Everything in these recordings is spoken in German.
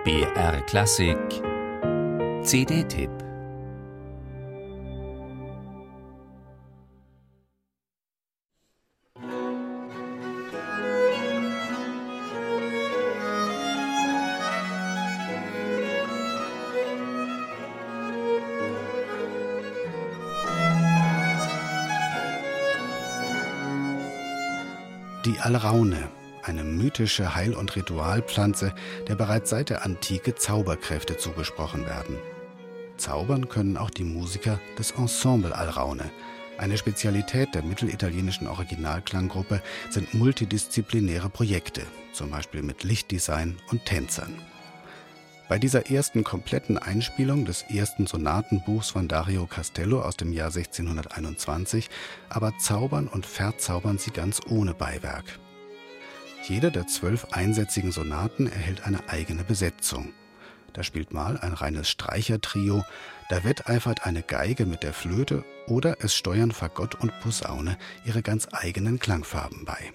BR Klassik CD-Tipp. Die Alraune, eine mythische Heil- und Ritualpflanze, der bereits seit der Antike Zauberkräfte zugesprochen werden. Zaubern können auch die Musiker des Ensemble Alraune. Eine Spezialität der mittelitalienischen Originalklanggruppe sind multidisziplinäre Projekte, zum Beispiel mit Lichtdesign und Tänzern. Bei dieser ersten kompletten Einspielung des ersten Sonatenbuchs von Dario Castello aus dem Jahr 1621 aber zaubern und verzaubern sie ganz ohne Beiwerk. Jede der 12 einsätzigen Sonaten erhält eine eigene Besetzung. Da spielt mal ein reines Streichertrio, da wetteifert eine Geige mit der Flöte oder es steuern Fagott und Posaune ihre ganz eigenen Klangfarben bei.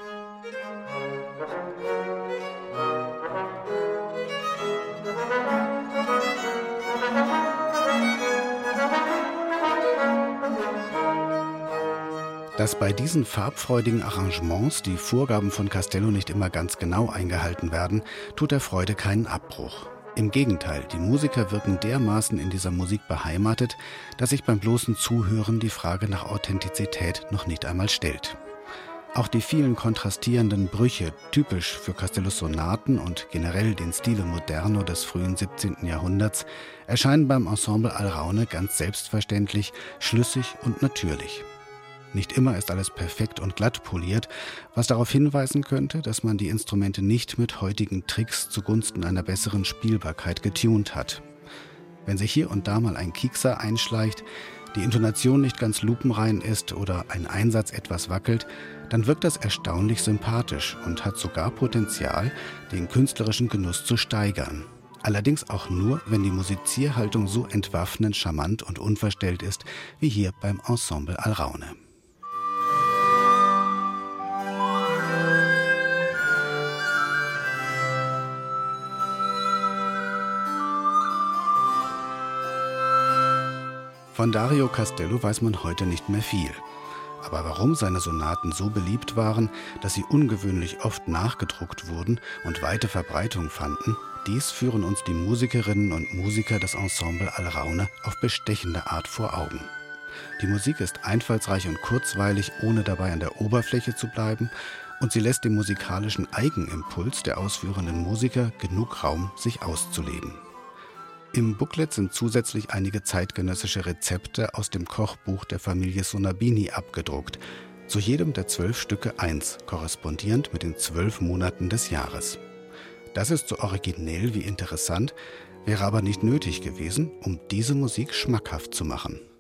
Dass bei diesen farbfreudigen Arrangements die Vorgaben von Castello nicht immer ganz genau eingehalten werden, tut der Freude keinen Abbruch. Im Gegenteil, die Musiker wirken dermaßen in dieser Musik beheimatet, dass sich beim bloßen Zuhören die Frage nach Authentizität noch nicht einmal stellt. Auch die vielen kontrastierenden Brüche, typisch für Castellos Sonaten und generell den Stile Moderno des frühen 17. Jahrhunderts, erscheinen beim Ensemble Alraune ganz selbstverständlich, schlüssig und natürlich. Nicht immer ist alles perfekt und glatt poliert, was darauf hinweisen könnte, dass man die Instrumente nicht mit heutigen Tricks zugunsten einer besseren Spielbarkeit getunt hat. Wenn sich hier und da mal ein Kiekser einschleicht, die Intonation nicht ganz lupenrein ist oder ein Einsatz etwas wackelt, dann wirkt das erstaunlich sympathisch und hat sogar Potenzial, den künstlerischen Genuss zu steigern. Allerdings auch nur, wenn die Musizierhaltung so entwaffnend charmant und unverstellt ist, wie hier beim Ensemble Alraune. Von Dario Castello weiß man heute nicht mehr viel. Aber warum seine Sonaten so beliebt waren, dass sie ungewöhnlich oft nachgedruckt wurden und weite Verbreitung fanden, dies führen uns die Musikerinnen und Musiker des Ensemble Alraune auf bestechende Art vor Augen. Die Musik ist einfallsreich und kurzweilig, ohne dabei an der Oberfläche zu bleiben, und sie lässt dem musikalischen Eigenimpuls der ausführenden Musiker genug Raum, sich auszuleben. Im Booklet sind zusätzlich einige zeitgenössische Rezepte aus dem Kochbuch der Familie Sonabini abgedruckt. Zu jedem der 12 Stücke eins, korrespondierend mit den 12 Monaten des Jahres. Das ist so originell wie interessant, wäre aber nicht nötig gewesen, um diese Musik schmackhaft zu machen.